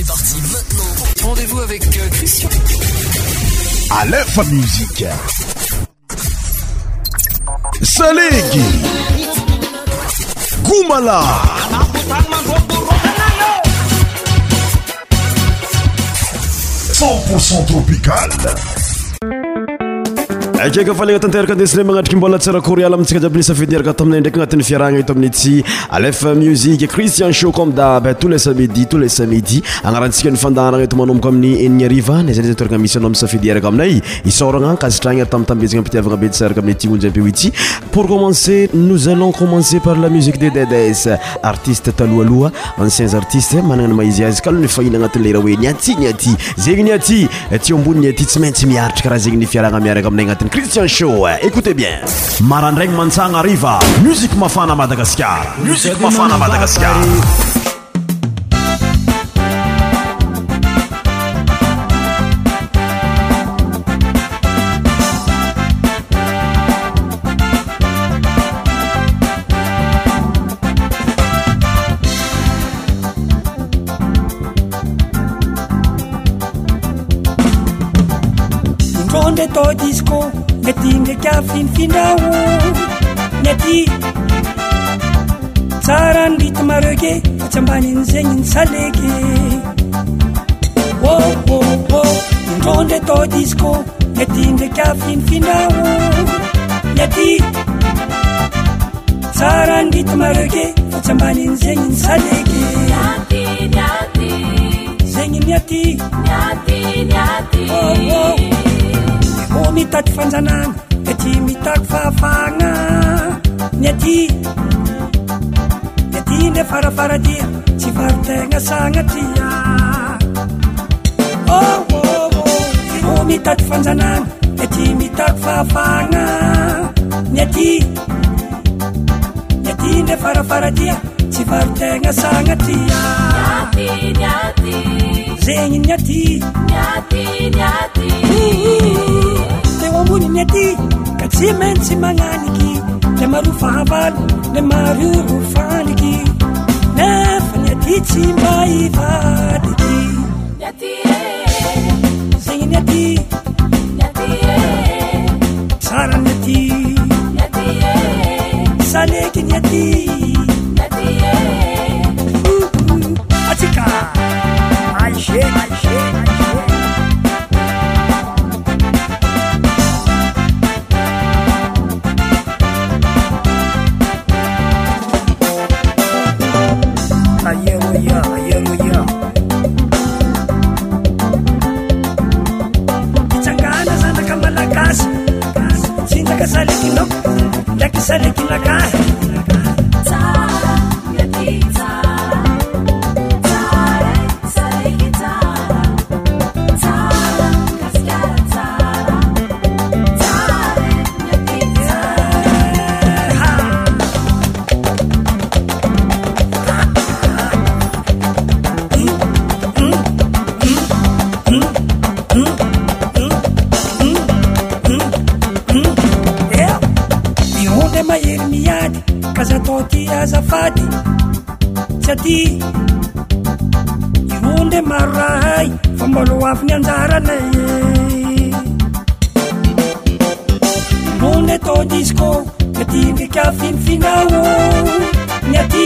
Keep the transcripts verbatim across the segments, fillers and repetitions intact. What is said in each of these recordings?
C'est parti maintenant. Rendez-vous avec euh, Christian. Aleph Musique. Salegi. Goumala. cent pour cent tropical. Akeka faligna tanteraka andesina magnatriky mbola tsara koryala amintsika jiaby ny safidieraka taminay ndraiky agnatin'ny fiarahagna eto amin'ny ty Aleph Musique Christian Show comme d'hab tous les samedis tous les samedis agnarantsika ny fandaharagna eto manomboka amin'ny enigny ariva na zay zay toerana misy anao amin'ny safidieraka aminay isoragna kasitragna tamtambezagna ampitiavagna be tsaraka amin'ny ty onjy ampio ity. Pour commencer nous allons commencer par la musique de Dedes artiste talohaloha anciens artistes managna ny maizy azy kalo ny fahina agnatin'ny lera hoe niaty niaty zegny niaty ty ambony niaty tsy maintsy miaritry karaha zegny ny fiarahagna miaraka aminay agnatin'ny Christian Show. Écoutez bien. Marandraigny Mansang arriva. Musique mafana Madagascar. Musique mafana Madagascar. Ronde to disco Ngetinge ka fin finao Nyati Tsaran dit maroge Chambanin zengin salege Oh oh oh Ronde to disco Ngetinge ka fin finao Nyati Tsaran dit maroge Chambanin zengin salege Nyati nyati Zengin nyati Nyati nyati Oh oh Oh mitaky fanjanagna Ety mitaky fahafagna Niaty Niaty nde farafaradia Tsy varitegna sagnatia Oh oh oh Oh mitaky fanjanagna Ety mitaky fahafagna Niaty Niaty nde farafaradia Tsy varitegna sagnatia Niaty niaty Zegny niaty Niaty niaty Ambony niaty ka tsy maintsy magnaniky le maro fahavalo le maro faniky nefa niaty tsy mba ivadiky niaty zegny niaty niaty tsara niaty niaty saleky niaty niaty atsika aishe aishe Salekino, like salekina guy. Tara, yati tara, tara, saleki tara, tara, kaskara tara, tara, yati mahery miady kaza toty azafady tsy aty ironde maro rahay fa mbolo afiny anjaranay ironde to disco natindry ka finifinao niaty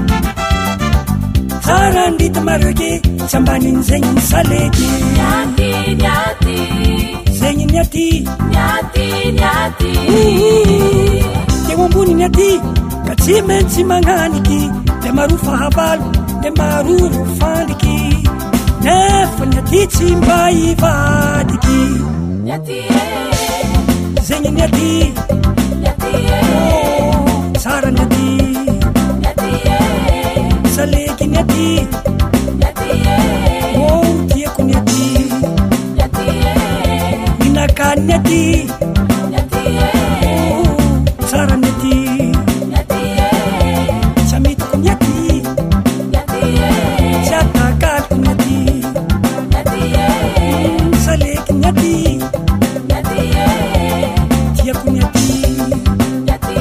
tsara andrita maroke tsy ambaniny zegny ny saleky niaty niaty zegny niaty niaty niaty Teo ambony niaty ka tsy maintsy magnaniky le maro fahavalo le maro fandiky nefa niaty tsy mba ivadiky niaty zegny niaty niaty tsara niaty niaty saleky niaty niaty oh tiako niaty niaty minakany niaty niaty tsara niaty niaty samitiko niaty niaty tsy atakatiko niaty niaty saleky niaty niaty tiako niaty niaty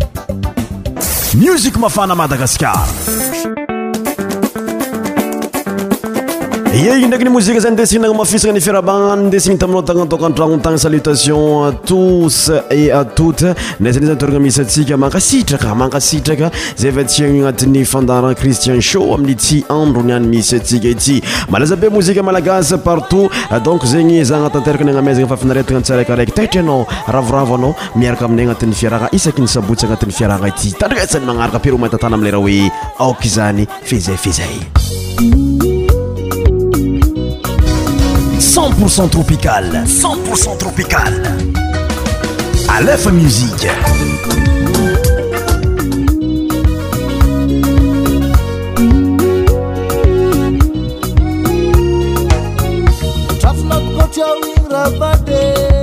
Musique mafana Madagascar. Yey ndraiky ny mozika zany ndesigna mafisagna ny fiarabagna ndesigny taminao tagna tokantragno tagna salutation à tous et à toutes nezany zany toragna misy atsika mankasitraka mankasitraka zay va tiagny agnatin'ny fandaran Christian Show amin'ny ty andro niany misy atsika ity malaza be mozika malagasy partout donc zegny za agnatanteraka ny agnamezagna fafinaretagna tsaraikaraiky taitra anao ravoravo anao miaraka aminay agnatin'ny fiaragna isaky ny sabotsy agnatin'ny fiaragna ity tandretsany magnaraka pero matatana am'lera hoe aoky zany fezay fezay cent pour cent tropical, cent pour cent tropical. Aleph Musique. Trafnot kocha wingra bade.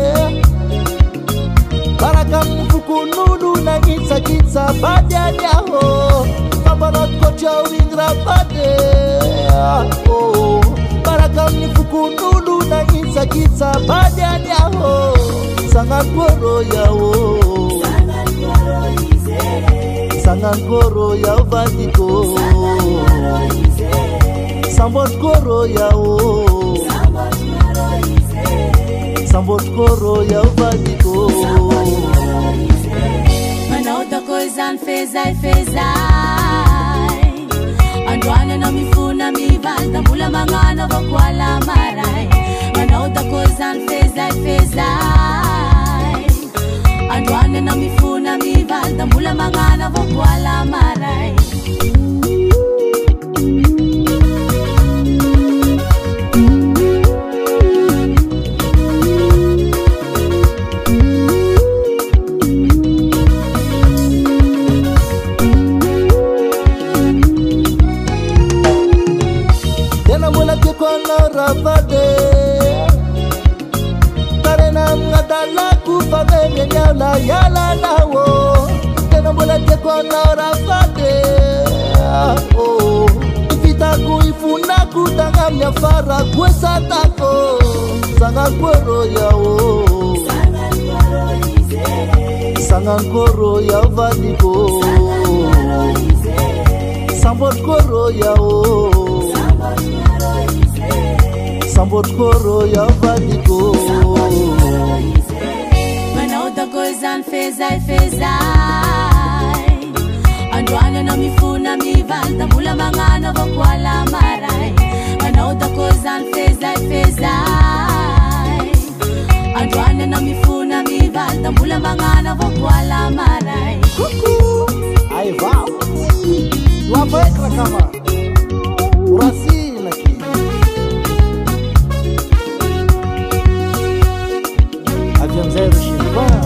Barakam fukunulu na kitsa kitsa bade anyaho. Babanot kocha wingra bade. Oh. Barakam fukunulu na kitsa kitsa bade anyaho. Sangan koro yao. Sangan koro ize. Sangan koro yao vadiko. Sangan koro ize. Sambot koro yao. Sambot koro ize. Sambot koro yao vadiko. Sambot koro ize. Manauta koizan fezai fezai. Andwana na mifuna mivalta mula mangana vakwala marai. Manauta koizan fezai fezai. Andwana na mifuna mivalta mula mangana vakwala marai. Rabade Karena ngadala ku pamenya nyala yala nawo Tena mbola teko na rabade Oh Ifita ku ifuna ku tangamnya fara kwesa tako Sangan koro yao Sangan koro ize Sangan koro yao vadiko Sangan koro ize Sambot koro yao Sambot koro ya vadiko Manauta koizan fezai fezai Andwana na mifuna mivalta mula mangana vakwala marai Manauta koizan fezai fezai Andwana na mifuna mivalta mula mangana vakwala marai Kuku Ai vau Wapekra kama Urasi laki Aviam zero Chilvan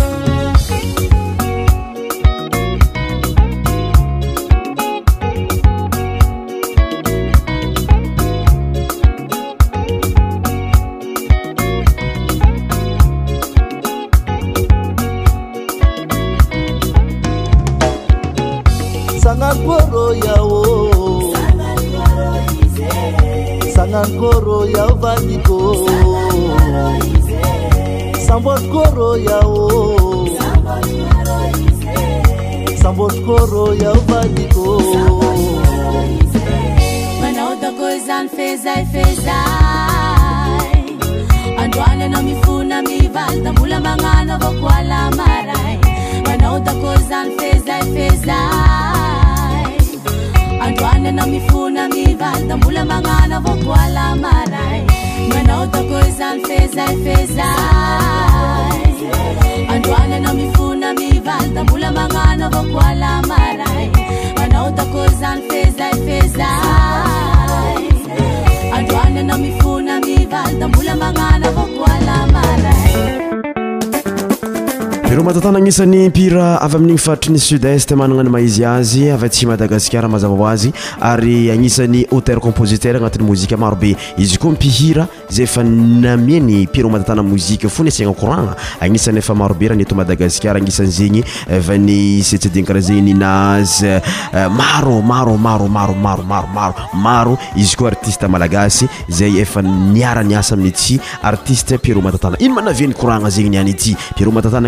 Sangan koro yao Sangan koro ize Sangan koro yao vadiko Sangan koro ize Sambot koro yao Sambot koro ize Sambot koro yao vadiko Sambot koro ize Manauta koizan fezai fezai Andwana na mifuna mivalta mula mangana vakwala marai Manauta koizan fezai fezai Andwana na mifuna mivalta mula mangana vakwala marai Manauta koizan fezai fezai Andwana na mifuna mivalta mula mangana vakwala marai Manauta koizan fezai fezai Andwana na mifuna mivalta mula mangana vakwala marai Pero matatana agnisan'ny mpira avy amin'igny faritry ny sud-est managna ny maizy azy avy atsy Madagasikara mazava ho azy ary agnisan'ny auteur compositeur agnatin'ny mozika maro be izy koa mpihira zay efa namieny Pero matatana mozika fo ny asiagna koragna agnisan'ny efa maro be raha ny eto Madagasikara agnisan'ny zegny va ny setsediny karaha zegny ny Naz maro maro maro maro maro maro maro maro izy koa artiste malagasy zay efa niara niasa amin'ny ity artiste Pero matatana ino manaviany koragna zegny niany ity Pero matatana agnisan'ny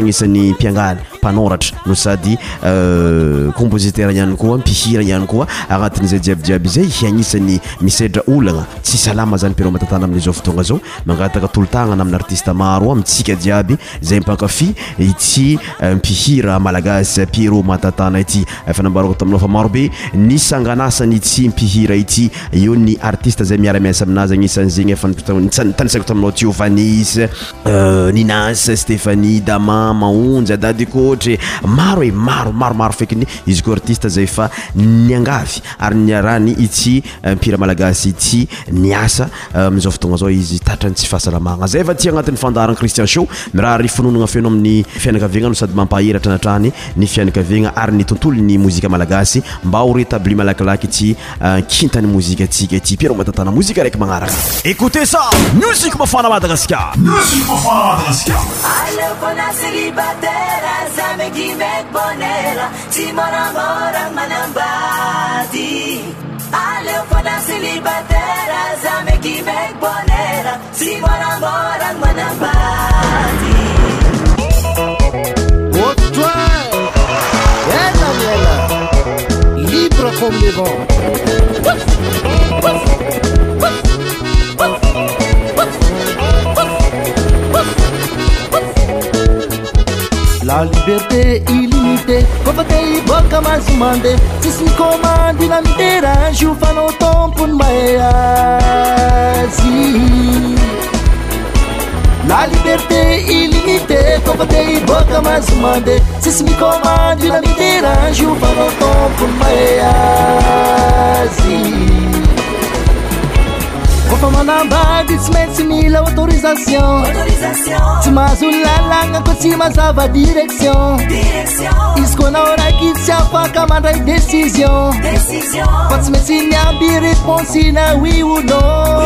ny mpiangaly mpanoratra no sady compositeur ihany koa mpihira ihany koa agnatin'izay jiabijiaby zay agnisan'ny misedra olagna tsy salama zany Pierrot Matatana amin'izao fotoagna zao mangataka tolotagna amin'ny artiste maro amintsika jiaby zay mpankafy ity mpihira malagasy Pierrot Matatana ity efa nambarako taminao fa marobe ny sanganasany ity mpihira ity io ny artiste zay miara-miasa aminazy agnisan'zegny efa tanisako taminao tio Vanisse Ninas Stéphanie Dama Maonja Dady Kotre maro e maro maro maro fekiny izy ko artiste zay fa niangavy ary niarany ity mpihira malagasy ity niasa amin'izao fotoagna zao izy tatrany tsy fahasalamagna zay fa ty agnatin'ny fandaharana Christian Show miraha ry finonoagna feno amin'ny fianakaviagna no sady mampahiratra anatrany ny fianakaviagna ary ny tontolo ny mozika malagasy mba ho rétabli malakilaky ity kintany mozika atsika ity Pierrot Matatana mozika raiky magnaraka. Écoutez ça, musique mafana Madagascar. Musique mafana Madagascar. Alefona célibataire, zame qui m'aide bonheur, si mon amour manambadi. Alefona célibataire, zame qui m'aide bonheur, si mon amour manambadi. Oh toi, ella, ella, libre comme les vents. La liberté illimitée, combatei boca mais mande, se se comande na mineira, chuva no tompo no maiazi. La liberté illimitée, combatei boca mais mande, se se me comande na mineira, chuva no tompo no maiazi. Vou falar na base, se mil autorização. Se mais o lalanga, se mais a direção. Isso na hora que se afaca, manda a decisão. Pode me ensinar a resposta na we will know.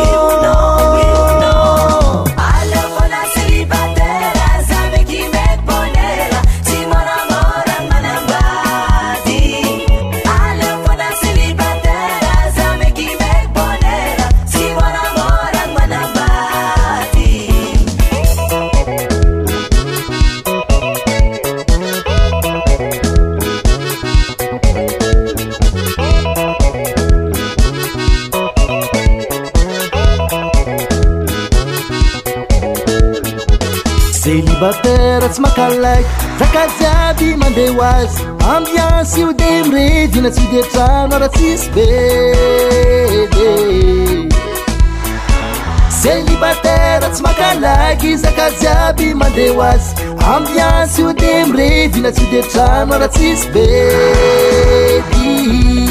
Célibataire, tsy makalaiky zakajiaby mandeha hoazy ambiansy io de mirevy na tsy de trano raha tsisy bedy. Célibataire, tsy makalaiky zakajiaby mandeha hoazy ambiansy io de mirevy na tsy de trano raha tsisy bedy.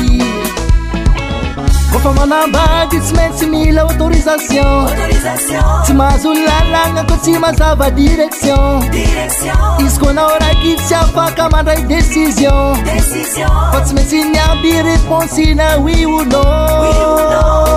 Kofa manambady tsy maintsy mila autorisation. Tsy mahazo lalagna ko tsy mazava direction. Izy ko na hora que tsy afaka mandray décision. Fa tsy maintsy niamby réponse na we will know.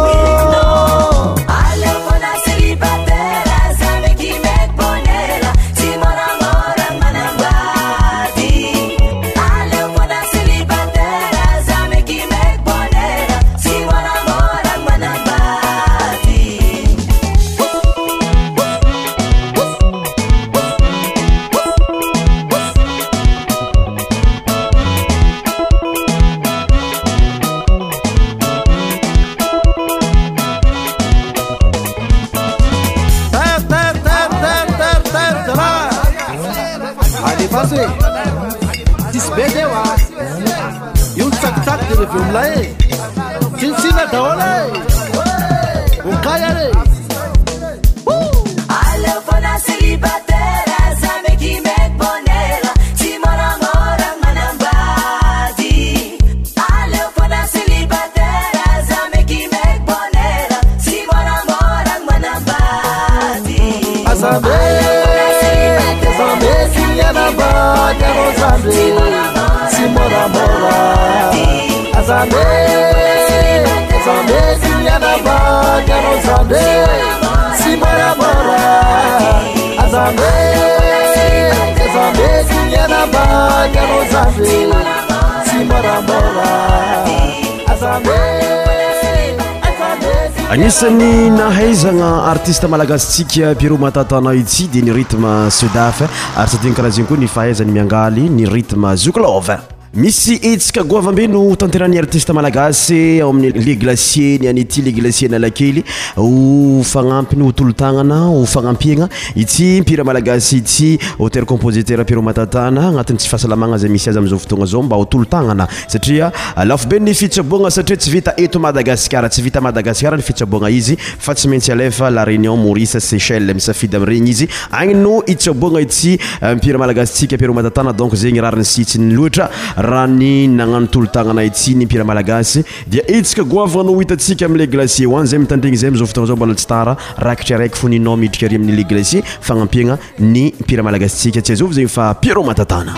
agnisan'ny nahaizagna artiste malagasitsika Pierrot Matatana itsy dia ny rythme Sudaf ary sadiny karaha zegny koa ny fahaizany miangaly ny rythme Zouklov. Misy etsika goavambe no tanterany artiste malagasy ao amin'ny les glaciers ny anity les glaciers Analakely ho fagnampiny ho tolotagnana ho fagnampiagna ity mpira malagasy ity auteur compositeur Pierrot Matatana agnatin'ny tsy fahasalamagna zay misy azy amin'izao fotoagna zao mba ho tolotagnana satria lafo be ny fitsaboagna satria tsy vita eto Madagasikara tsy vita Madagasikara ny fitsaboagna izy fa tsy maintsy alefa la Réunion Maurice Seychelles misafidy amin'iregny izy agny no itsaboagna ity mpira malagasitsika Pierrot Matatana donc zegny rariny sitsiny loatra raha ny nagnano tolotagnana ity ny mpira malagasy dia etsika goavagna no hitatsika amin'ny les glaciers hoany zay mitandregny zay amin'izao fotoagna zao mbola tsy tara rakitry araiky foninao miditra ary amin'ny les glaciers fagnampihagna ny mpira malagasitsika tsy azovy zegny fa Pierrot Matatana.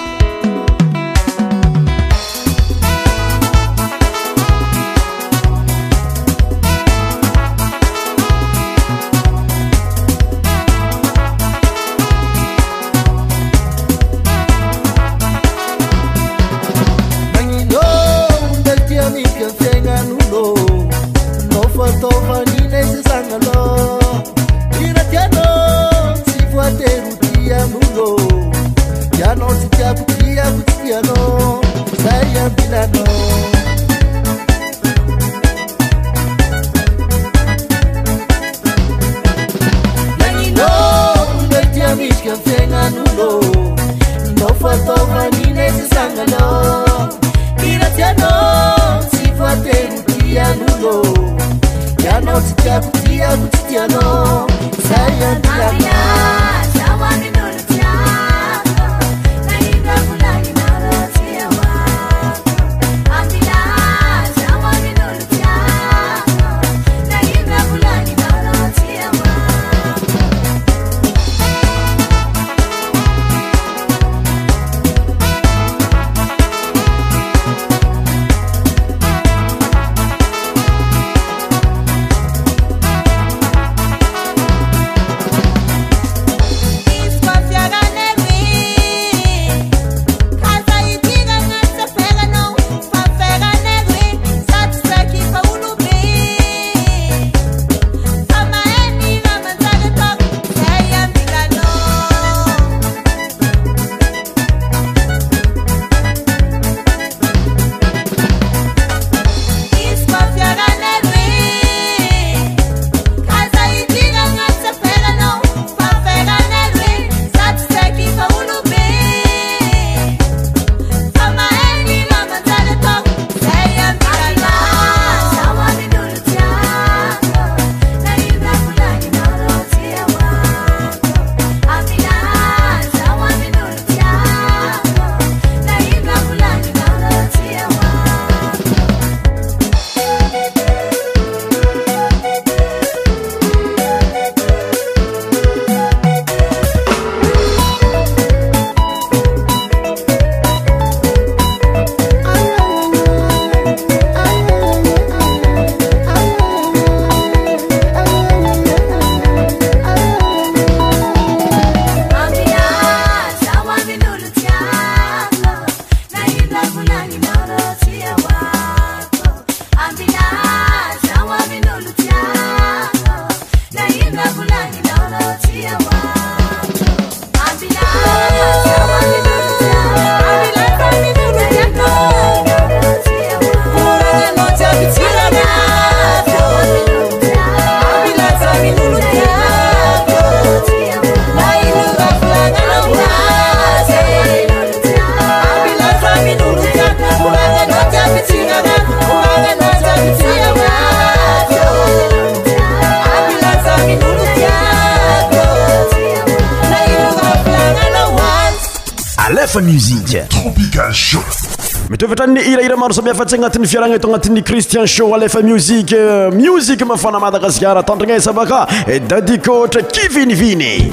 Musique Tropical Show. Mitovatra ny ira-ira maro samihafa agnatin'ny fiaragna eto agnatin'ny Christian Show alefa musique musique mafana Madagasikara tandrigna sabaka e dadikotra kiviniviny.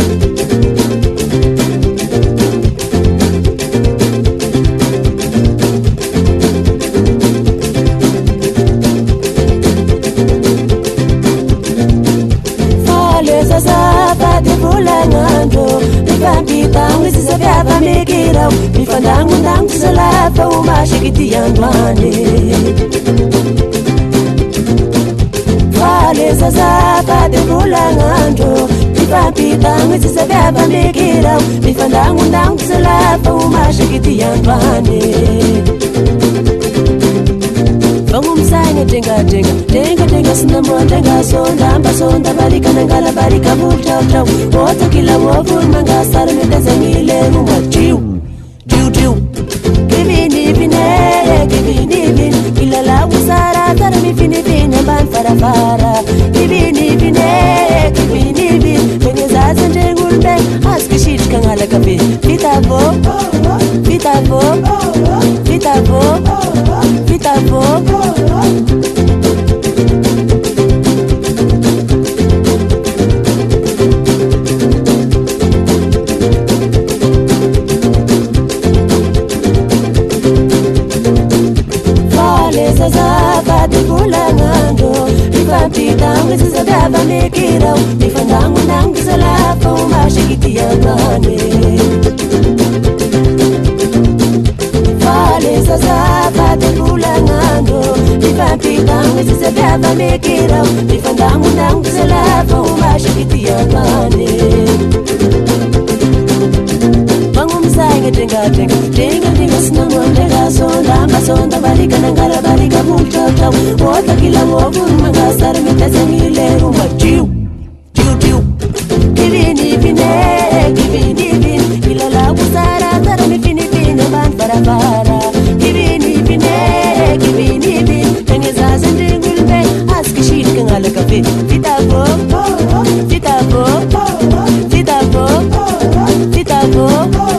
Mifandangundang salapa umashikiti andwane. Faleza zapa de bulangando Ipampitang zizababa mikirao Mifandangundang zalapa umashikiti yambane Vangumsanga denga denga Denga denga sinamo denga sonda Amba sonda barika nangala barika multau tau Wota kila wovun manga sarmi tazangile Uma jiu, jiu jiu Kivini vine, kivini vin Kila la usara tarmi fini vin Amban fara fara Kivini vine, kivini vin Kwenye zaza njengulbe Aski shich kangala kabe Vita vo, vita vo Vita vo, vita vo Zazaba de bulangando Ipampitang zizababa mikirao Mifandangu nang zalapa umashikiti yambane Fale zazaba de bulangando Ipampitang zizababa mikirao Mifandangu nang zalapa umashikiti yambane Vangumsanga denga denga Denga denga sinamo denga sonda Amba sonda barika nangala barika multau tau Wota kila wovun manga sarmi tazangile Uma jiu, jiu jiu Kivini vine, kivini vin Kila la usara tarmi fini vin Amban fara fara Kivini vine, kivini vin Kwenye zaza njengulbe Aski shit kangala kafe Vita vo, vita vo Vita vo, vita vo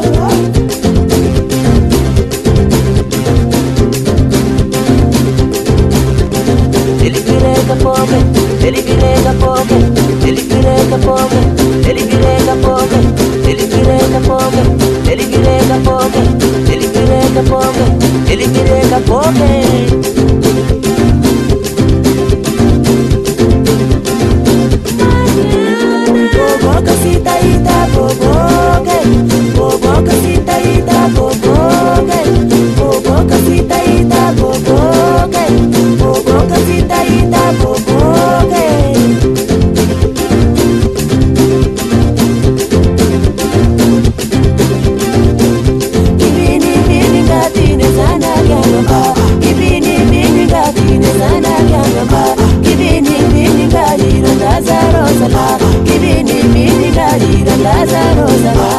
Ele virega fogo, ele virega fogo, ele virega fogo, ele virega fogo, ele virega fogo, ele virega fogo, ele virega fogo, ele virega fogo. Boboca cita ita boboca, boboca cita ita boboca, boboca cita ita boboca, boboca cita ita boboca. Kivini vini gatine sana kyangamba, kivini vini gatine sana kyangamba, kivini vini gatine Lazaro sala, kivini vini gatine Lazaro sala.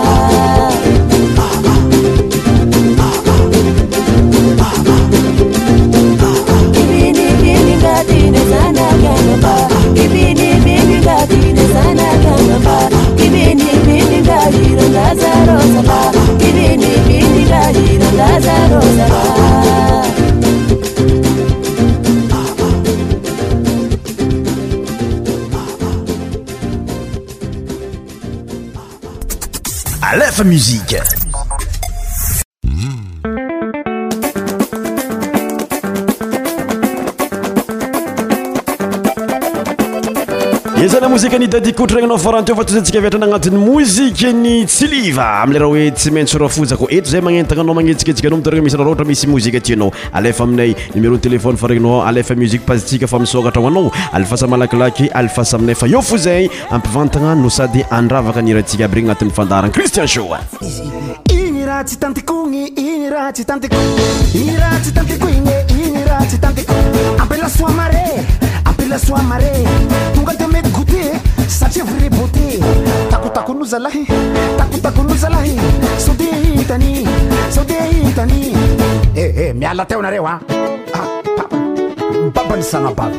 Kivini vini gatine sana kyangamba, kivini vini gatine sana kyangamba, kivini vini gatine Lazaro sala, kivini vini gatine Lazaro sala. Aleph Musique. Izana muzika ny dadikotragnanao faranteo fa tozatsika viatrana agnatin'ny mozika ny tsiliva am'le raha hoe tsy maintsy rafozako eto zay magnentagna anao magnetsiketsika anao mitarigna misy raha ohatra misy mozika tianao alefa aminay numéro de téléphone faragnao alefa musique pasitsika fa misokatra ho anao alefasa malakilaky alefasa aminay fa eo fo zay ampivantagna no sady andravaka ny rahantsika aby regny agnatin'ny fandarana Christian Show. Igny raha tsy tantikogny, igny raha tsy tantikogny, igny raha tsy tantikogny, igny raha tsy tantikogny. Appelle la sua marée, appelle la sua marée. Tonga de me goûter, satria vrai beauté. Taku taku nous alahi, taku taku nous alahi. Sode hitani, sode hitani. Eh eh, miala teo nareo ha. Ah, papa. Papa ni sana baba.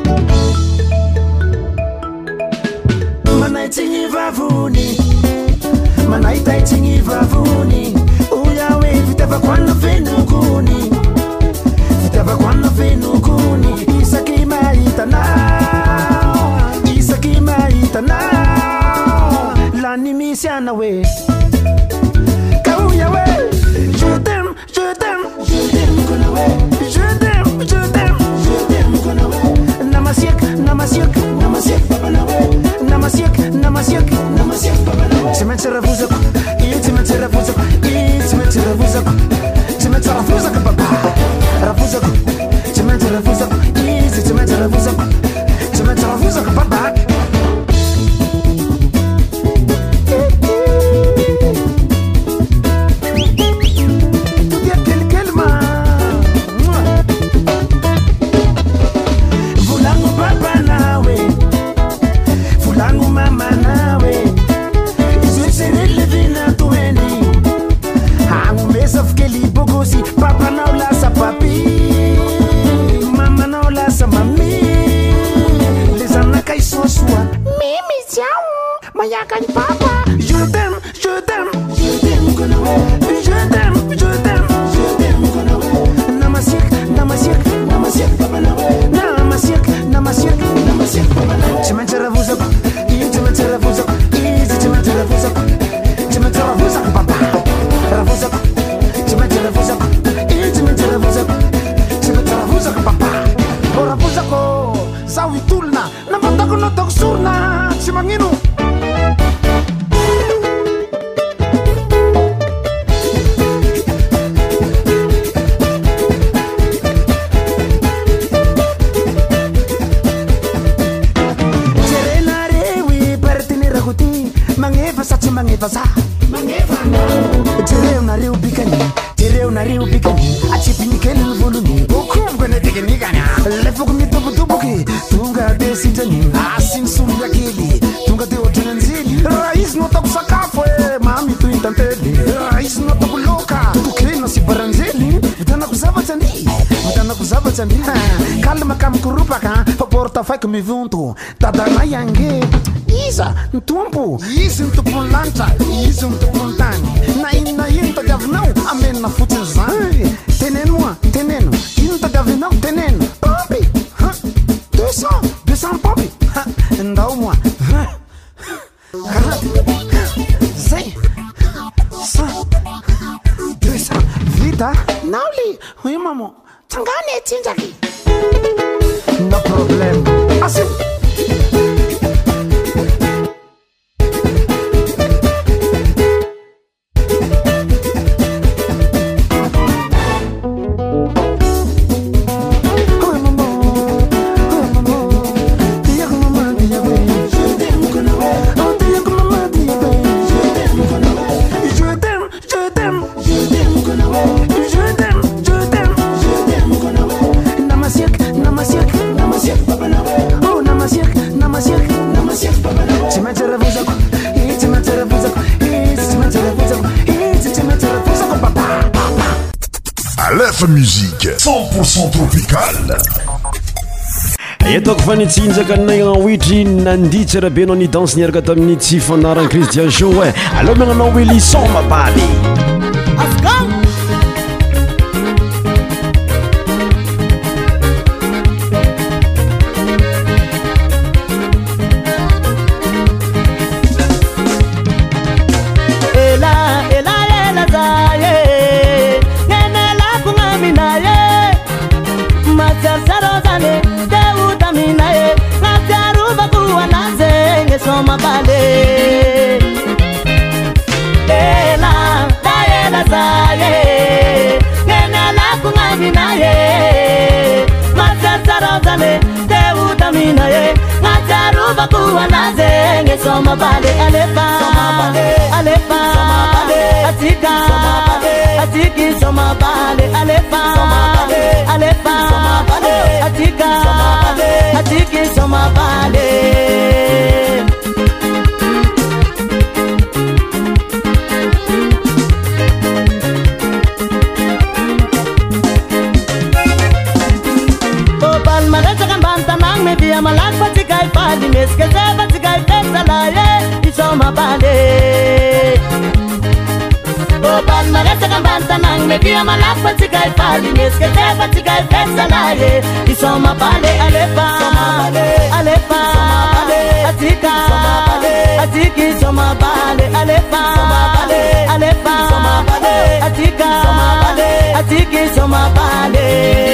Manaitingi vavuni. Manaita itingi vavuni. Uyawe vitava kwana venuguni. Vitava kwana venuguni. Isaki maita now. Isaki maita now. Lani misiana we. Kauya we. Je t'aime, je t'aime, je t'aime kuna we. Je t'aime, je t'aime, je t'aime kuna we. Namasiek, namasiek, namasiek papa na we. Namasiek, namasiek, namasiek papa na we. Cimete ravuzako, i cimete ravuzako, i cimete ravuzako, cimete ravuzako papa. Ravuzako, cimete ravuzako, i cimete ravuzako, cimete ravuzako papa. gagne papa. Je t'aime, je t'aime, je t'aime, je t'aime, je t'aime, je t'aime. Namasiek, namasiek, namasiek, papa namasiek, namasiek, namasiek, papa. Tu m'as tiré vous up, tu m'as tiré vous up, tu m'as tiré vous up, tu m'as tiré vous up, papa. Vous up, tu m'as tiré vous up, tu m'as tiré vous up, tu m'as tiré vous up, papa. Ora vous up, ça oui tout là, n'importe quoi notre surna, tu m'as guinou. Mangevasa, mangeva, tereu na reu bicani, tereu na reu bicani, a chipinicani no volume, o como quando tem que nigana, levo com mito do buque, tunga de sitani, assim sumia aquele, tunga de outro nanzili, raiz no toco sacafo, mami tu intantele, raiz no toco louca, tu crê no se baranzeli, vitana kusava tandi, vitana kusava tandi, calma cam curupaka, a porta fai comigo junto, tada na yangue. Isa, ntumpu, isa ntupu lancha, isa ntupu tani. Na ina yinta gavinão, amen na futezai. Teneno, teneno, yinta gavinão, teneno. Popi, deux cents, deux cents popi. Ndao moi, zay, cent, deux cents. Vida, nauli, oui maman, tangane tinjaki. No problem, assim. Musique cent pour cent tropicale. Etoko fanitsinjaka nagna witry nandia tsara be anao ni danse niaraka tamin'ny tsy fanaran'ny Christian Show e. Allo magnanao hoe lison mabaly. Soma bale, ela, ela zaye, nena la kungamina ye, masasara zale, te utamina ye, masaru bakuwa naze, nge soma bale, alefa, alefa, atika, atiki soma bale, alefa, alefa, atika, atiki soma bale. Dia malak patikai pali meske se patikai pesala ye isoma bale o ban mareta kambanta nang me dia malak patikai pali meske se patikai pesala ye isoma bale alefa alefa atika atiki soma bale alefa alefa atika atiki soma bale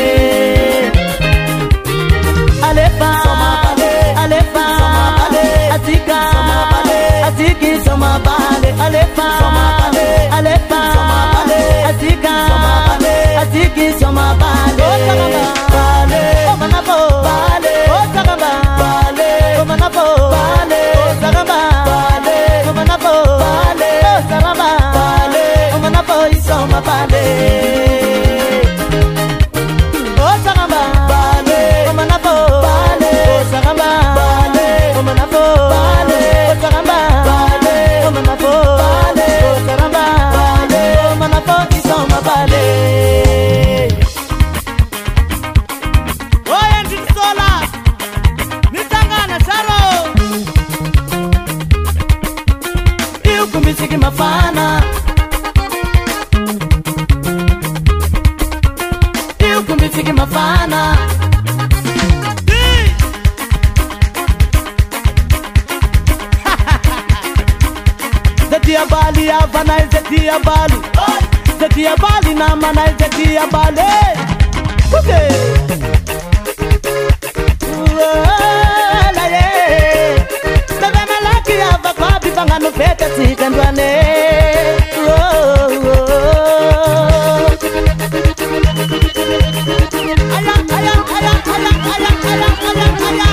Alefa, Alefa, Atika, Atiki soma bale, Alefa, Alefa, Atika, Atiki soma bale, bale, omanabo, bale, osagaba, bale, omanabo, bale, osagaba, bale, omanabo, bale. mafana eu kumbi fiki mafana Zetia Bali Havana Zetia Bali Zetia Bali na mana Zetia Bali Okay La ye Bebe malaki ava kwa bibanga no fete sikandwane Aya aya aya aya aya aya aya aya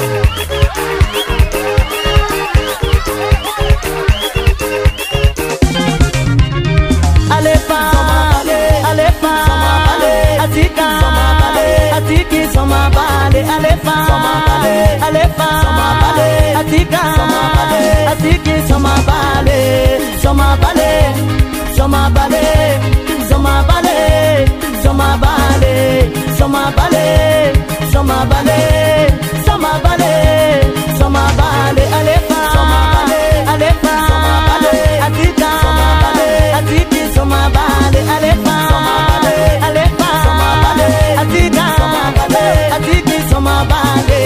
Alefa, Alefa, Atika, Atiki, Somabale, Alefa, Alefa, Atika, Atiki, Somabale, Somabale, Somabale, Somabale, Somabale, Somabale, Somabale, Somabale, Somabale, Alefa, Alefa, Atika, Atiki, Somabale, Alefa, Alefa, Atika, Atiki, Somabale.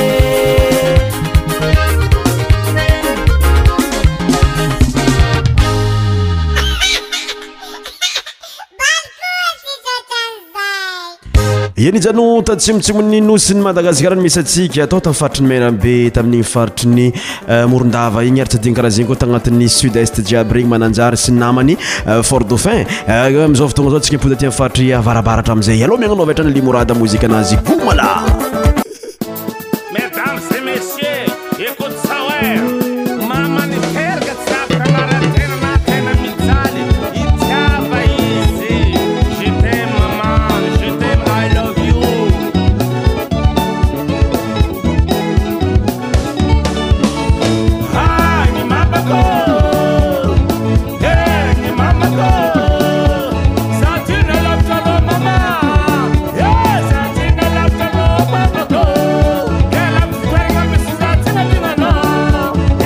Yeni jano tatsimotsimony nosiny Madagasikara misy atsika atao tamin'ny faritry ny Menabe tamin'ny faritry ny Morondava igny ary tsy adiny karaha zegny koa tagnatin'ny sud-est jiaby regny Mananjary sy namany Fort Dauphin amizao fotoagna zao tsika mipody aty amin'ny faritry avarabaratra amizay aloha miagnanao vetrany Limorada mozika anazy Gomala. Mesdames et messieurs, écoute ça ouais. Mama ni terga tsapra maratena na tena mizali. Itiava izy. Je t'aime maman, je t'aime, I love you. Ah, ni mama go. Hey, ni mama go. Santina love to love mama. Yeah, Santina love to love mama go. Yeah, love to love mama. Santina love to love mama.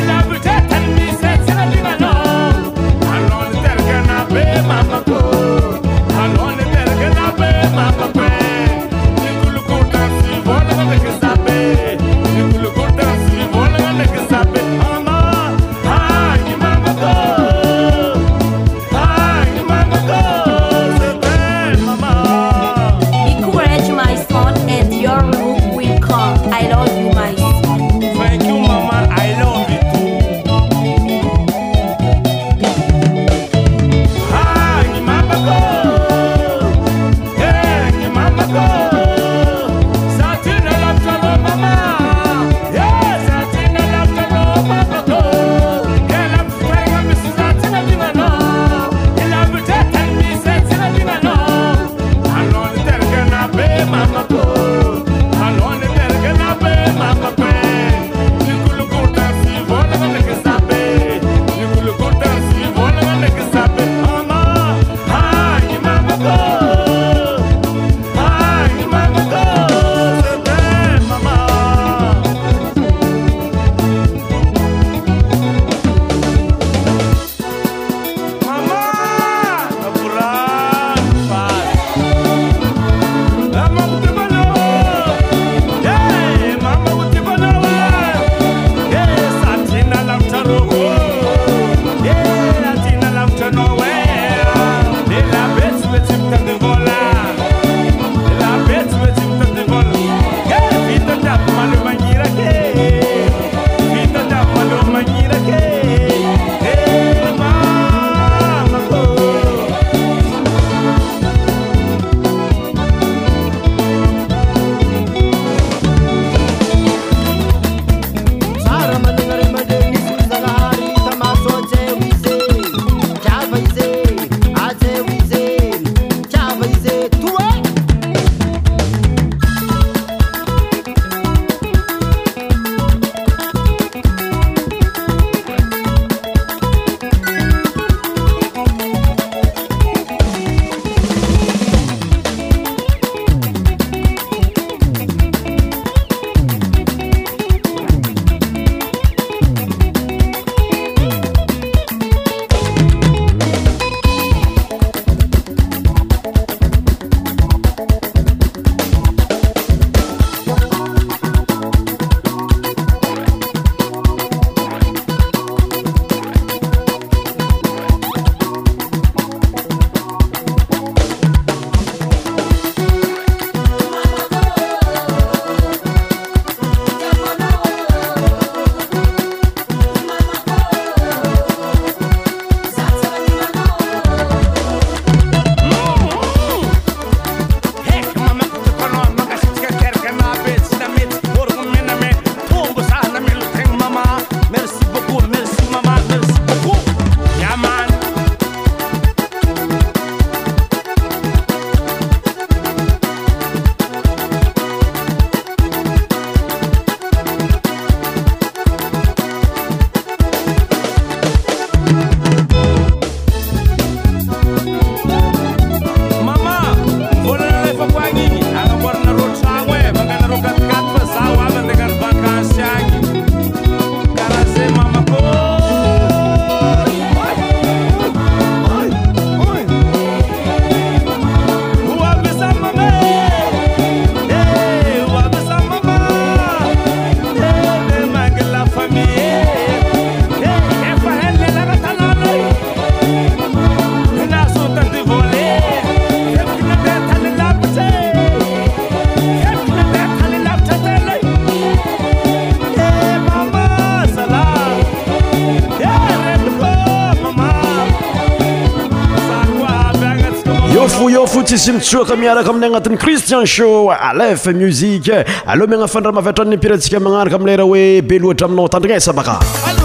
fotsisy mitsoaka miaraka amin'ny agnatin'ny Christian Show Aleph Musique alo megna fandramaviatrany piratsika magnaraka amin'ny lera hoe be loatra aminao tandrignesa baka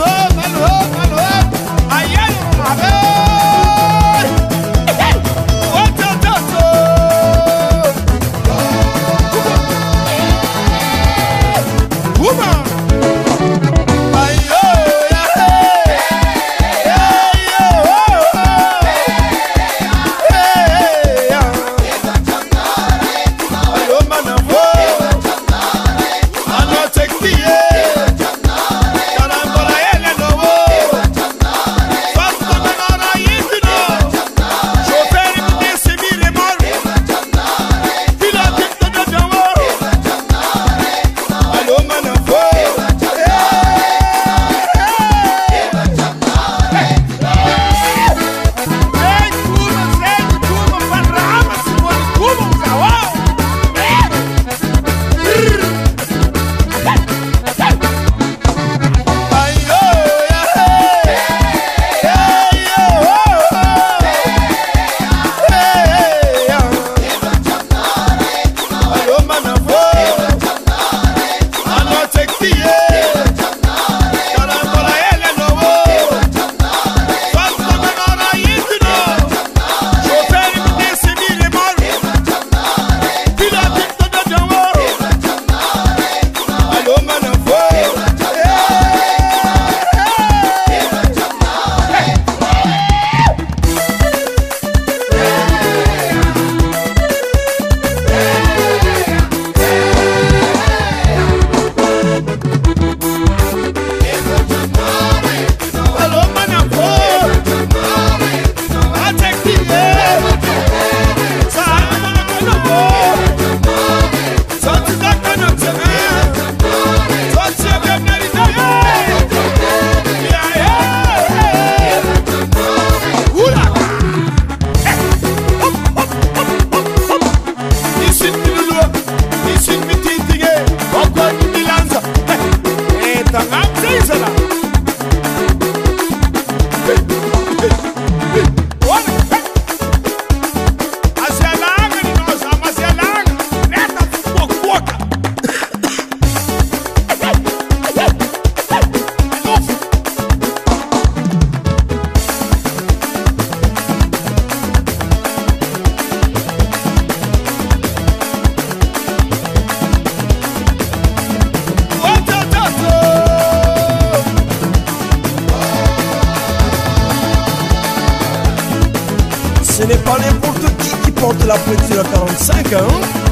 Ce n'est pas n'importe qui qui porte la pointure à quarante-cinq, hein?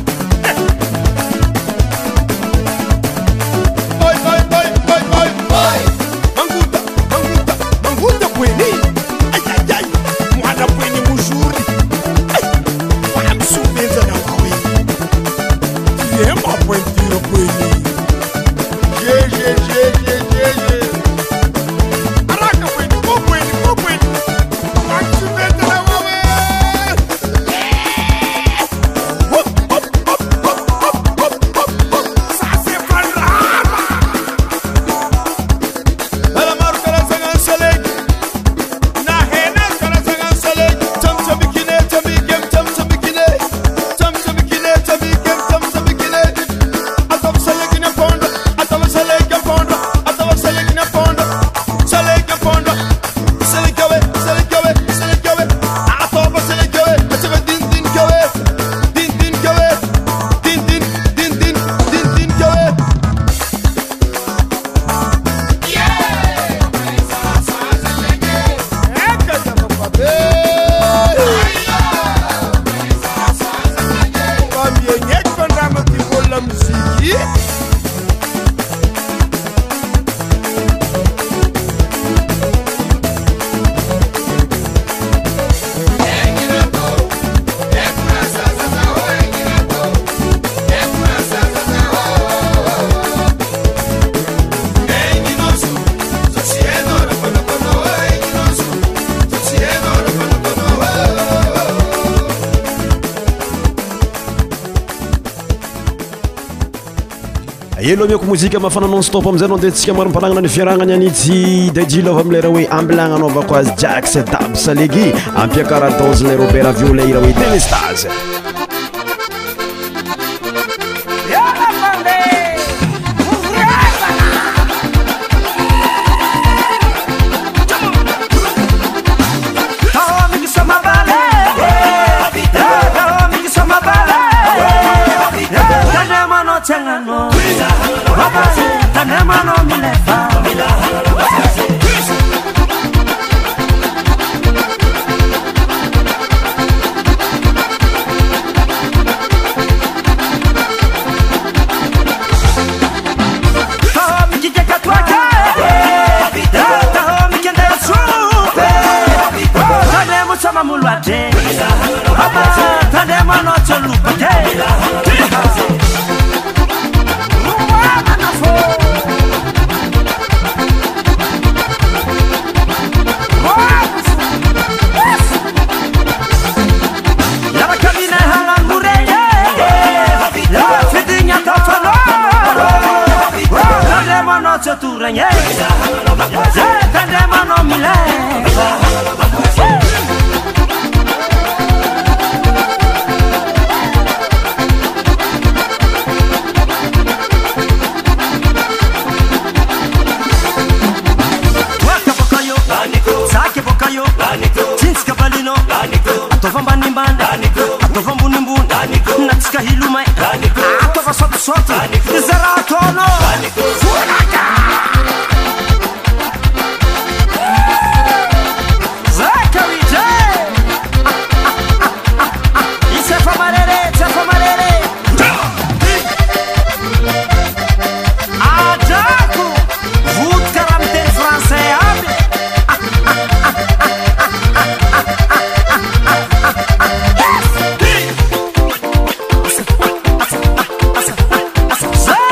Bye, bye, bye, bye, bye, bye. Manguta, manguta, manguta kweni. Aïe, aïe, aïe. Moi, la kweni moujouri. Aïe, moi, je me souviens de la kweni. Tu es ma pointure kweni. J'ai, j'ai, j'ai, j'ai, j'ai, j'ai. Araka kweni, mo kweni, mo kweni. Moi, je me souviens de la kweni. elo miako mozika mafana non stop amizay anao de tsika marom-panagnana ny fiaragnany anitsy dajilova amilera hoe ambelagna anaovako azy jax dab salegy ampiakara dose le robert violet ira hoe delestage Tengano, tanema no milefa, tanema no cholupa. Turanya, tandema no milefa. Waka bokayo, sake bokayo, jeans kabalino, atova mbanimbanda, atova mbunimbunda, natska hilumai, atova sotu sotu, zaratono. Say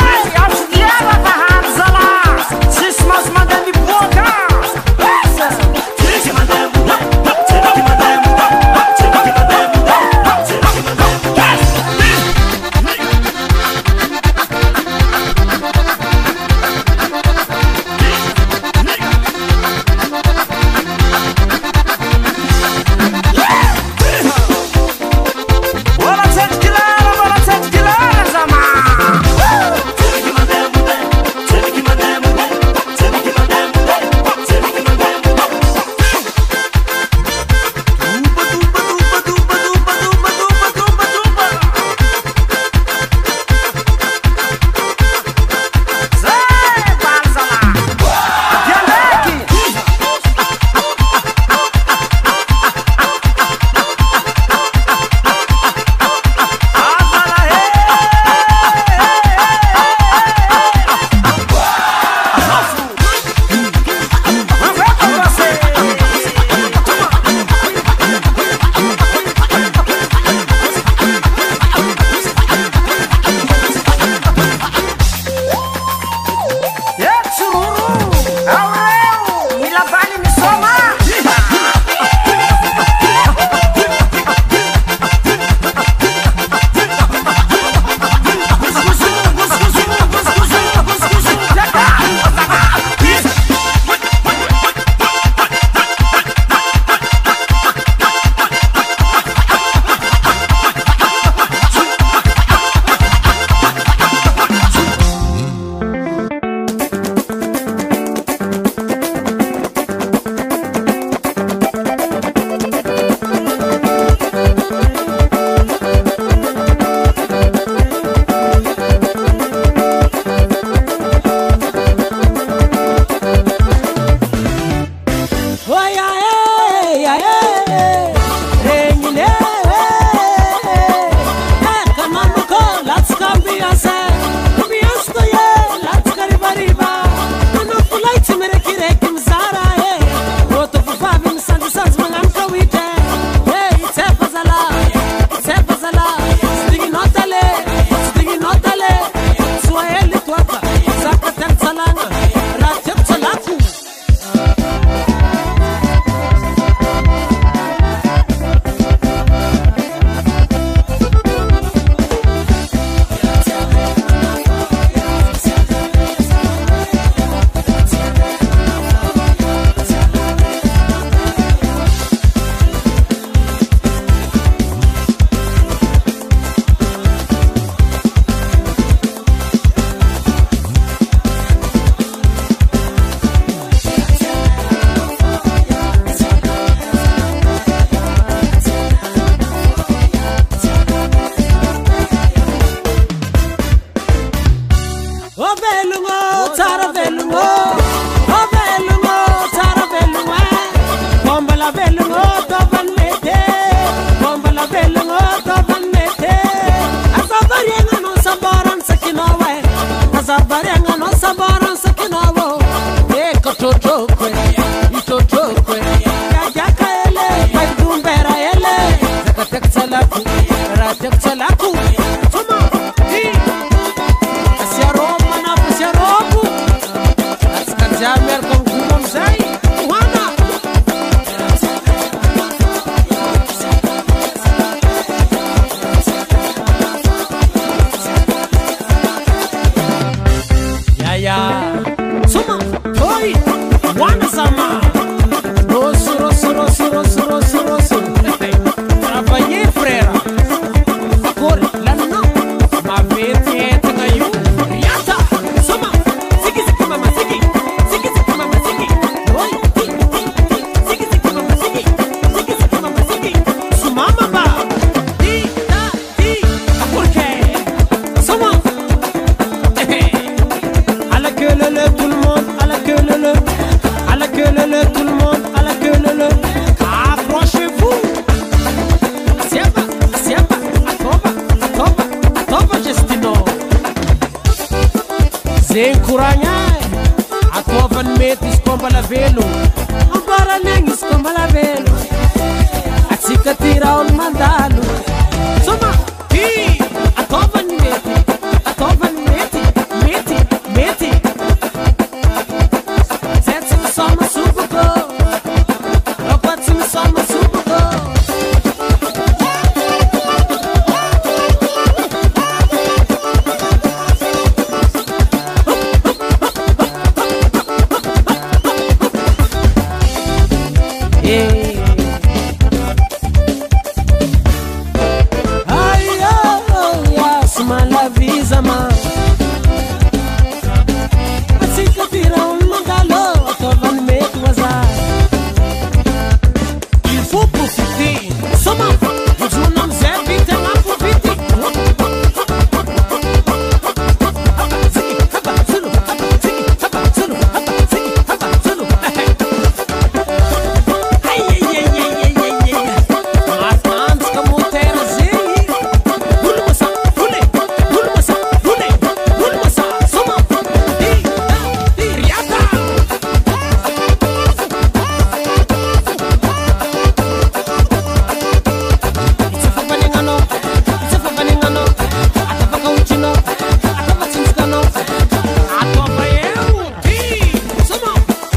velungo o velungo tsara velungo bomba la velungo to van mete bomba la velungo to van mete asabarenga no sabaran sakino we asabarenga no sabaran sakino wo e kototo kwe itoto kwe ya jakaele pai dumbera ele zakatek salaku ratek salaku tuma di asiaroma na asiaroku askajamer con kumom sai wana ya ya tuma oi wana sama rosso rosso rosso rosso rosso rosso travailler frère corre la no ma vete tenga yu yata sama sigi sigi mama sigi sigi sigi mama sigi oi sigi sigi mama sigi sigi sigi mama sigi su mama ba di da di porque sama à la queue le tout le monde à la queue le à la queue le tout le monde à la queue le approchez-vous assieba assieba atoba atoba atoba gestino zenkuranya atoba metis comba la velo agora nengis comba la velo atsika tira on mandalo soma hi atoba meti atoba meti meti meti setsi soma subuko opatsi soma subuko Ay, oh, oh, yes, ma la visa, ma. Assim que tira um magalo, tô van met wazar. Il faut profiter. Soma, vous jouez non c'est vite, ma profiter. Sigi, haba, zulu, haba, sigi, haba, zulu, haba, sigi, haba, zulu. Ay, ay, ay, ay, ay, ay, ay. Mas antes como ter assim. Bulu masa, bule, bulu masa, bule, bulu masa. Soma, di, da, di, riata. It's a fabaningano, it's a fabaningano. Atapa kauchino, atapa cinskano. Atapa eu, di, soma.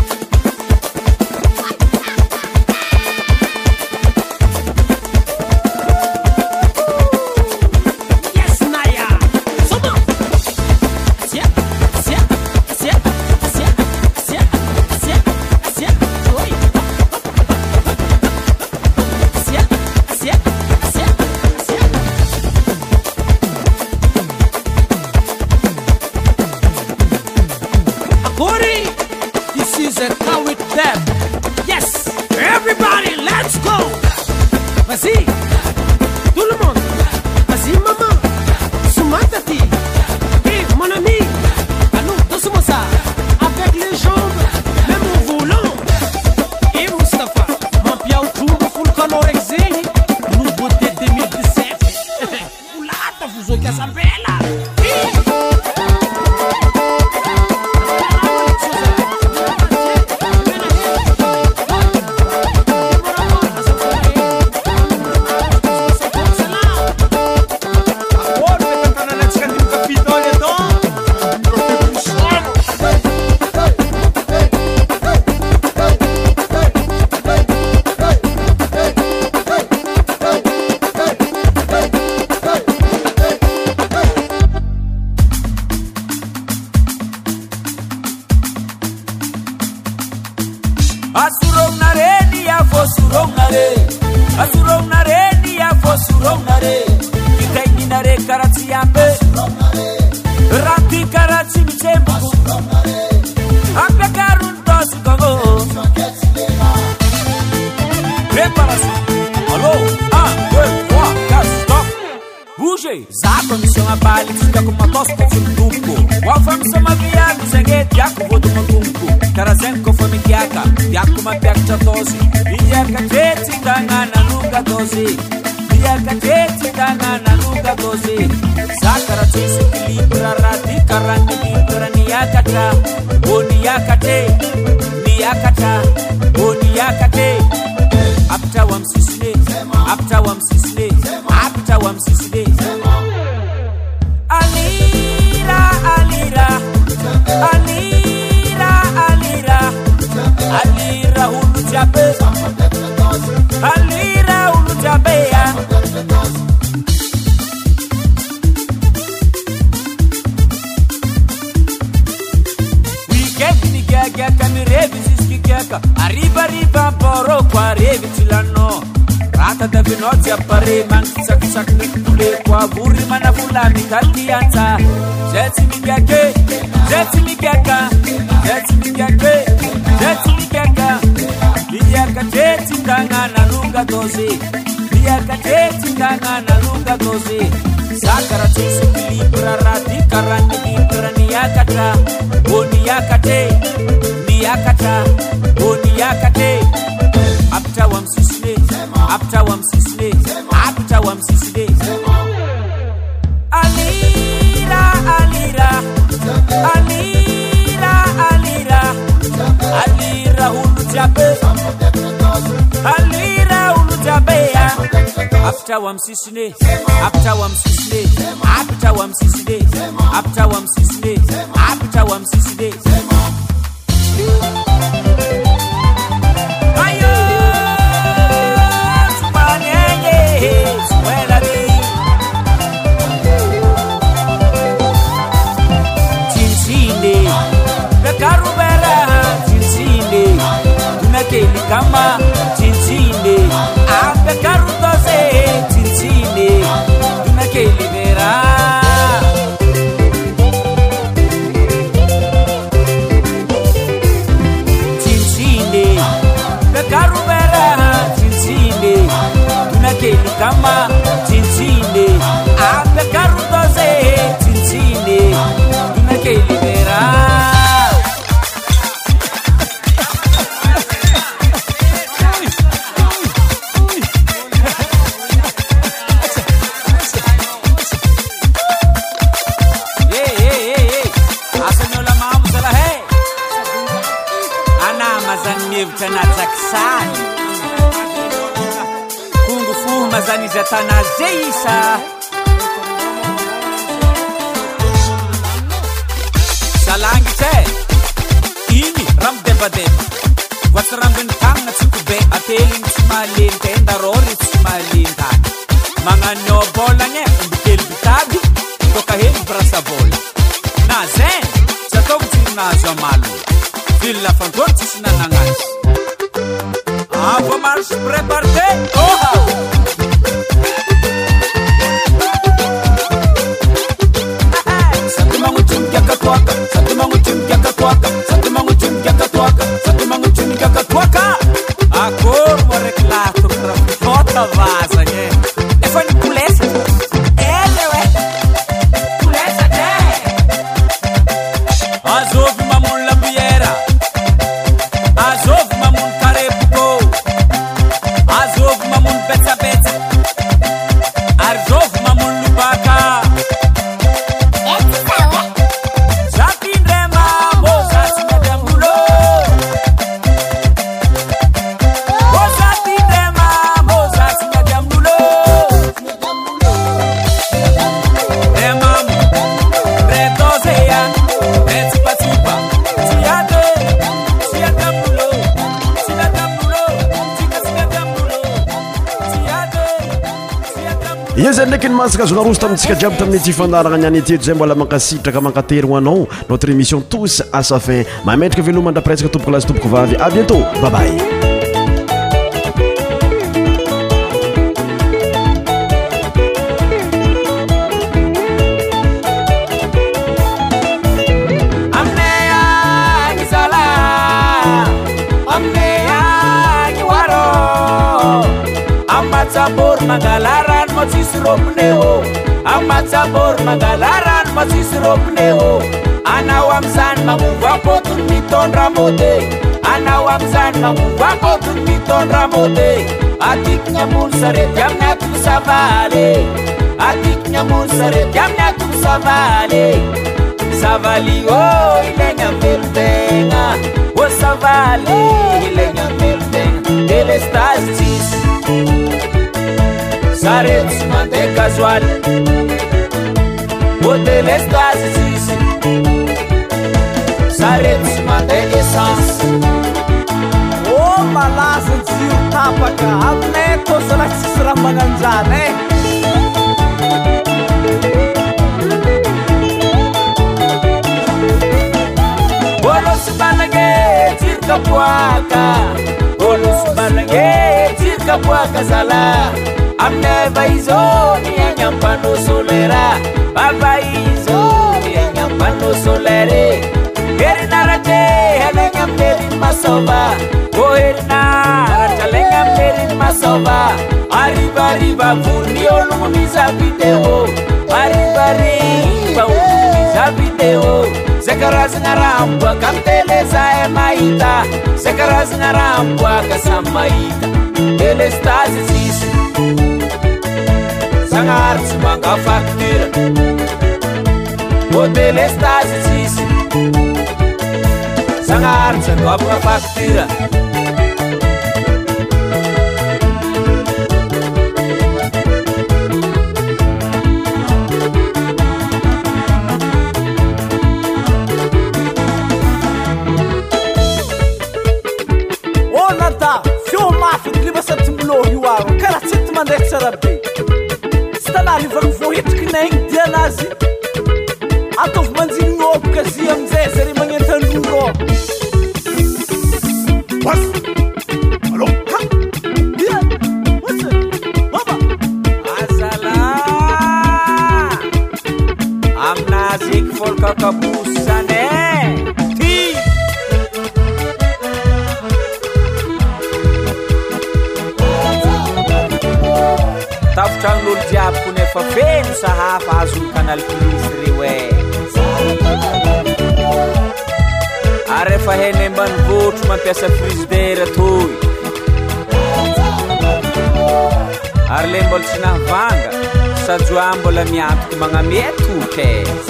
Yes, Naya. Soma. Asia, asia, asia, asia, asia, asia, asia. Oi. Asia, asia, asia, asia. Akori, this is a cow with them. Yes, everybody, let's go. Vas-y, tout le monde. Vas-y, maman. Soumatati. Et mon ami, allons, doucement ça. Avec les jambes, même au volant. Et Mustafa, mon piao tout, full color exil. Nouveauté deux mille dix-sept. Oulata, vous avez sa belle. Asurong nareni ya fosurong nare, asurong nareni ya fosurong nare. Kita ini nare karatsi ambe, rati karatsi micembu. Ambe karun tos kogo. Preparação. Alô, un, deux, trois, quatre, stop. Bougez. Zako missão a bali, fica com uma tosse com um duplo. Qual foi missão a viagem, sangue, diaco, vou do mundo. lavitra tosi iakatety tagnana lunga tosi iakatety tagnana lunga tosi zakara tsisy equilibre raha ty karany equilibre niakatra o niakate niakatra o niakate apitra ho amy sisine apitra ho amy sisine apitra ho amy sisine alira alira alira alira alira ulu jabe alira ulu jabe ya weekend ni gaga kamirevi siski gaga arriva arriva boro qua revi cilano rata da vinozzi appare manchisa chissà che le qua burri ma na fulani talchianza Jetsi mi gaga Jetsi mi gaga Jetsi mi gaga Jetsi mi gaga Liaka jetsi tangana lunga dosi Liaka jetsi tangana lunga dosi Sakara chisi equilibra rati karani equilibra niyakata O niyakate Niyakata O niyakate Apta wam sisne Apta wam sisne Apta wam sisne Alira Alira Alira Alira Alira ulu jabe Alira ulu jabe ya Apta wam sisne Apta wam sisne Apta wam sisne Apta wam sisne Apta wam sisne Ayo Sumanyenye Suela di Cincine Bekarubera Cincine Tunakeli kama Cincine Ape karutose Cincine Tunakeli vera Cincine Bekarubera Cincine Tunakeli kama Cincine Ape karutose Cincine Tunakeli vera Tanatsaksani kungu fuma zani zatana zeisa salangi te ini ram deba deba watrambin tanga tsukube ateling smalin tenda rori smalin ta mangano bola nye umbikel bitabi toka hem brasa bola na zen chatom tina zamalu villa fantorti sinanangas Ah, vamos preparar. Oha! Satu mangucun jaka tuaka, satu mangucun jaka tuaka, satu mangucun jaka tuaka, satu mangucun jaka tuaka. Aku mau reklato pra foto vaza, né? É foi no pulesa. É, ué. Pulesa, né? Azov mamun lambiera. Azov mamun karepuko. Azov mamun peta peta. Azov mamun lubaka. Zatin rema bosa sinadam bulo. Bosa tin rema bosa sinadam bulo. Remam retosea etipa tipa tiade tiadam bulo sinadam bulo sinadam bulo tiade izy ndraiky ny masaka azona roso tamintsika jiaby tamin'ity fandaragna niany eteto zay mbola mankasitraka mankatery ho anao notre émission tous à sa fin mametraka velomandra presque tompoko lasy tompoko vavy à bientôt bye bye Sabor magalaran mo sisropneo Amat sabor magalaran mo sisropneo Anawam san manguva potun miton ramote anao am'izany mamovakôtony mitondra môde atiky nyamono sarety amin'ny atony savaly atiky nyamono sarety amin'ny atony savaly savaly ô ilaigna velon-tegna ô savaly ilaigna velon-tegna delestazy tsisy sarety sy mandeha gazoaly ô delestazy tsisy sarety sy mandeha essence ô malaza jiro tapaka aminay tô zala tsisy raha magnanjany e ôlosy balagny jiro kapoaka ôlosy balagny jiro kapoaka zala aminay vaizo miaigny ampanô solera avaizo miaigny ampanô solere herinaratra alaigny amin'leriny masova ô herinaratra alaigny amin'leriny masova arivariva vorony ôlogno miza vidéo arivariva ôlogno miza vidéo zay karazagna raha miboaka amy tele zahay mahita zay karazagna raha miboaka samy mahita delestazy tsisy zagnahary tsy manga facture ô delestazy tsisy zagnahary tsy adoavagna facture karaha tsy ty mandeha tsara be tsy tanany ivagny vohitriky naigny dianazy ataovy manjinigny ôboka zy amizay zare magnentan'olo Bas Allô Ha Yeah What's it Mama Azala aminazy eky folkakabosy zany e ty tafotragn'olo jiaby ko nefa feno sahafa azony canal plus reo e ary efa heny ambanivôtro mampiasa frizidera toy ary le mbola tsy nahavanga sajoa mbola miantoky magnamia toky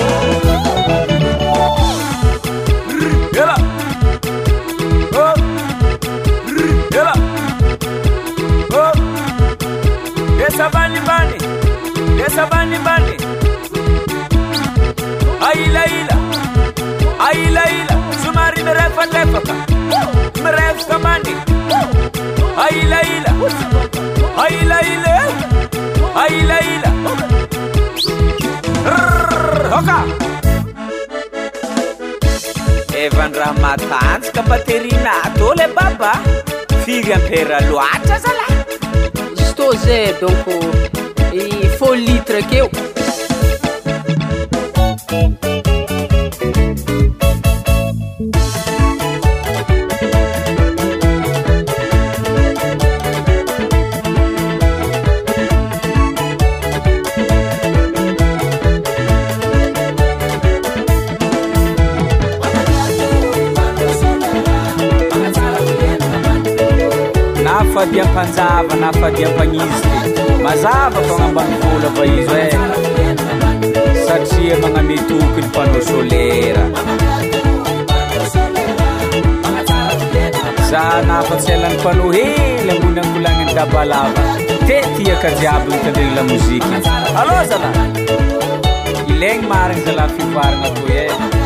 ela oh ela oh esa bani bani esa bani bani aila ila aila ila sumari merefa tefaka merefa bani aila ila aila ila aila ila hoka Evan Ramatans kapaterina tole baba firy ampera loatra zala Estou Zé, donc il faut litre que eu. Nafadia panzava, nafadia pagnizy mazava fagnambanivolo fa izy e satria magnametoky ny panneau solaire za nafatsy alan'ny panneau hely ambony angolagniny dabalava te tiaka jiaby mitandregny la moziky alô zala ilaigny marigny zala fivaragna toy e